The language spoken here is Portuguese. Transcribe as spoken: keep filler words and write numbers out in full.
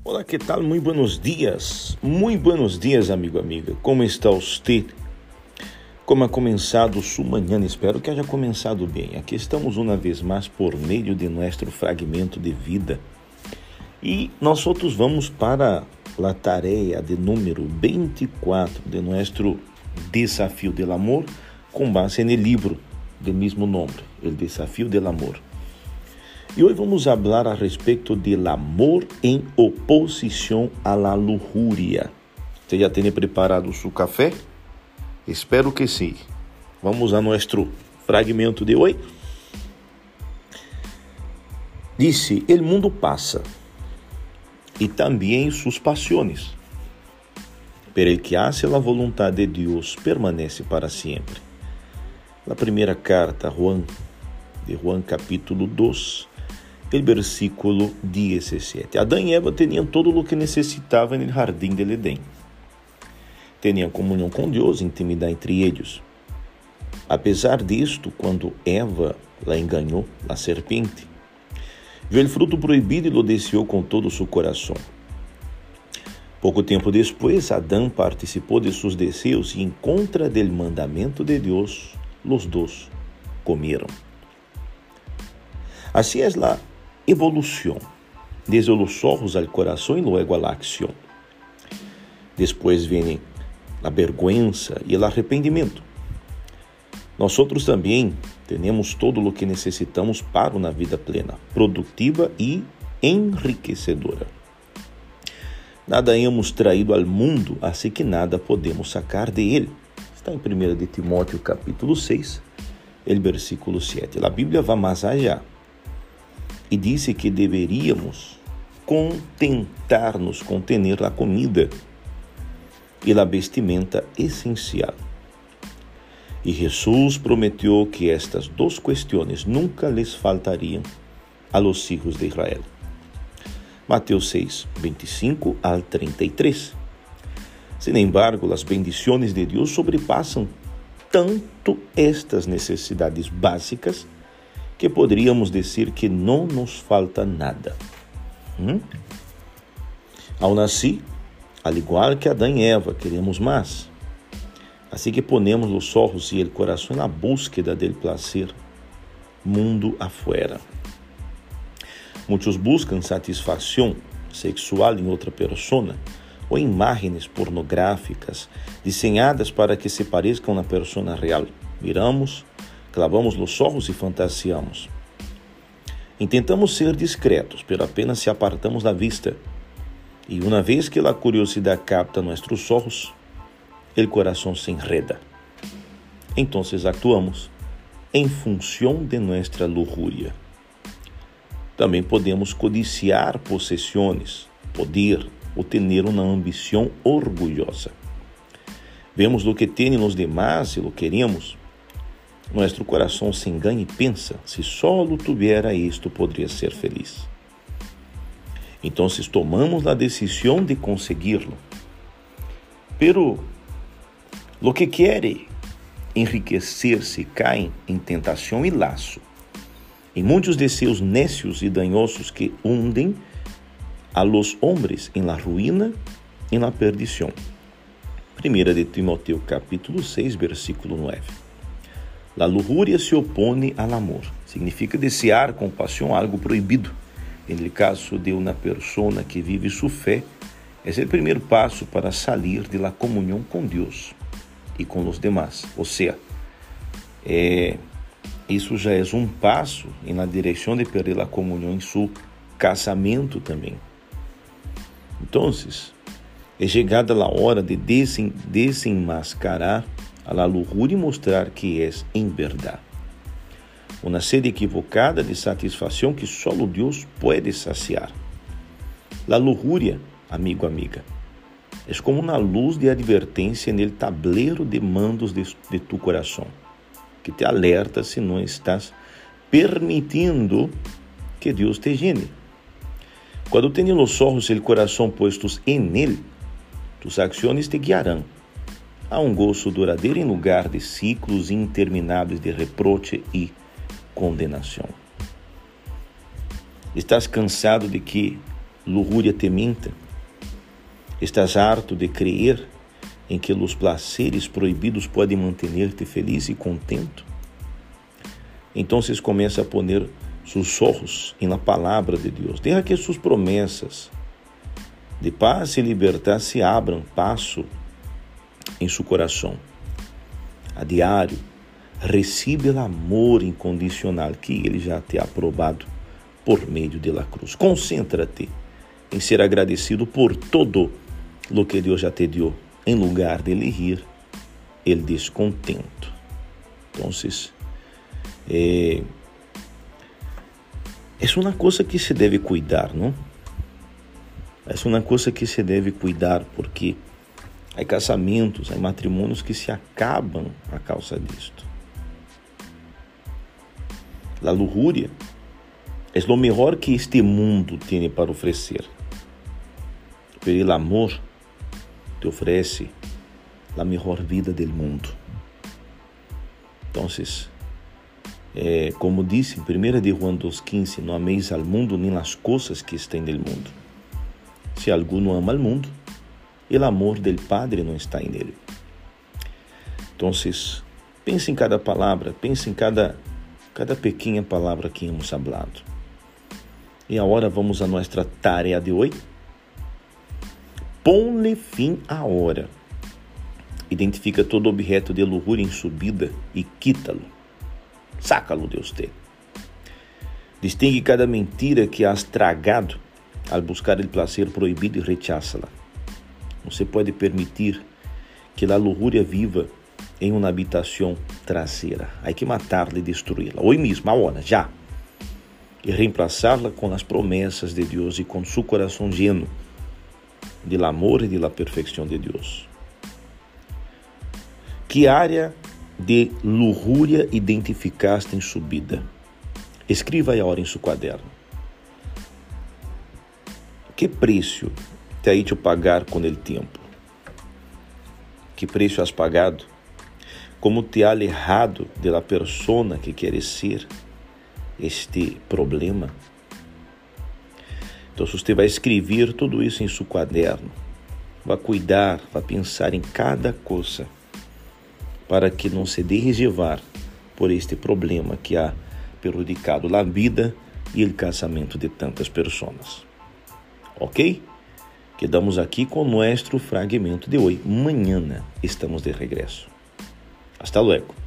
Olá, que tal? Muy buenos dias. Muy buenos dias, amigo, amiga. Como está você? Como ha começado sua manhã? Espero que haja começado bem. Aqui estamos uma vez mais por meio de nosso fragmento de vida. E nós outros vamos para a tarefa de número vinte e quatro de nosso Desafio del Amor, com base no livro do mesmo nome, O Desafio del Amor. E hoje vamos falar a respeito do amor em oposição à la lujuria. Você já tem preparado seu café? Espero que sim. Vamos a nosso fragmento de hoje. Disse: "El mundo passa e também suas paixões, pero el que hace la voluntad de Deus permanece para sempre." A primeira carta a Juan, de Juan capítulo dois, o versículo dezessete. Adão e Eva tinham tudo o que necessitavam no jardim del Edén. Tinham comunhão com Deus, intimidade entre eles. Apesar disto, quando Eva la enganou, a serpente, viu o fruto proibido e lo desejou com todo o seu coração. Pouco tempo depois, Adão participou de seus desejos e, em contra del mandamento de Deus, los dois comeram. Assim é a evolução, desde os olhos ao coração e luego à ação. Depois vem a vergonha e o arrependimento. Nós outros também temos todo o que necessitamos para uma vida plena, produtiva e enriquecedora. Nada hemos traído ao mundo, assim que nada podemos sacar de ele. Está em primeira de Timóteo capítulo seis, o versículo sete. A Bíblia vai mais allá e disse que deveríamos contentar-nos com ter a comida e a vestimenta essencial. E Jesus prometeu que estas duas questões nunca lhes faltariam a los hijos de Israel. Mateus seis, vinte e cinco al trinta e três. Sin embargo, as bendições de Deus sobrepassam tanto estas necessidades básicas que poderíamos dizer que não nos falta nada. Hum? Ao nascer, al igual que Adão e Eva, queremos mais. Assim que ponemos os olhos e o coração na búsqueda del placer, mundo afuera. Muitos buscam satisfação sexual em outra persona ou em imagens pornográficas desenhadas para que se pareçam na persona real. Miramos, clavamos os olhos e fantasiamos. Intentamos ser discretos, pero apenas se apartamos da vista. E uma vez que a curiosidade capta nossos olhos, o coração se enreda. Então actuamos em função de nossa lujuria. Também podemos codiciar possessões, poder ou ter uma ambição orgulhosa. Vemos o que tem nos demais e lo queremos. Nosso coração se engana e pensa: se só lo tuviera isto, poderia ser feliz. Então tomamos a decisão de conseguirlo. Pero lo que quer enriquecer-se cai em tentação e laço, em muitos desejos necios e danhosos que hundem a los hombres em la ruína e na perdição. primeira de Timóteo capítulo seis, versículo nove. La lujuria se opone al amor. Significa desejar com paixão algo proibido. No caso de uma persona que vive sua fé, é o primeiro passo para sair de la comunhão com Deus e com os demás. Ou seja, é, isso já é um passo na direção de perder a comunhão em seu casamento também. Então, é chegada a hora de desen, desenmascarar a la lujuria e mostrar que é em verdade. Uma sede equivocada de satisfação que só Deus pode saciar. La lujuria, amigo, amiga, é como uma luz de advertência no tablero de mandos de, de tu coração, que te alerta se não estás permitindo que Deus te llene. Quando tenhas os olhos e o coração postos em Ele, tus ações te guiarão a um gozo duradouro em lugar de ciclos intermináveis de reproche e condenação. Estás cansado de que lujuria te minta? Estás harto de crer em que os placeres proibidos podem manter-te feliz e contento? Então começa a poner seus olhos na palavra de Deus. Deja que suas promessas de paz e liberdade se abram passo em seu coração. A diário, recebe o amor incondicional que Ele já te ha aprovado por meio da cruz. Concêntrate em ser agradecido por todo o que Deus já te deu, em lugar de elegir o descontento. Então, é, é uma coisa que se deve cuidar, não? É uma coisa que se deve cuidar, porque há casamentos, há matrimônios que se acabam a causa disto. A lujuria é o melhor que este mundo tem para oferecer. Pero o amor te oferece a melhor vida do mundo. Então, é, como disse em primeira de João dois quinze, não ameis al mundo nem as coisas que estão no mundo. Se alguno ama al mundo, o amor del Padre não está em ele. Então, pense em cada palavra, pense em cada, cada pequena palavra que hemos falado. E agora vamos a nossa tarefa de hoje. Ponle fim à hora. Identifica todo objeto de lujuria em sua vida e quítalo. Sácalo de você. Distingue cada mentira que has tragado al buscar o placer proibido e rechaça-la. Não se pode permitir que a lujuria viva em uma habitação traseira. Há que matá-la e destruí-la. Hoje mesmo, agora, já. E reemplazá-la com as promessas de Deus e com seu coração lleno do amor e da perfeição de Deus. Que área de lujuria identificaste em sua vida? Escreva aí agora em seu caderno. Que preço te ha hecho pagar com o tempo? Que preço has pagado? Como te ha alejado de la persona que queres ser este problema? Então, você vai escrever tudo isso em seu caderno, vai cuidar, vai pensar em cada coisa, para que não se deixe levar por este problema que ha prejudicado a vida e o casamento de tantas pessoas. Ok? Quedamos aqui com nosso fragmento de hoje. Mañana estamos de regresso. Hasta luego.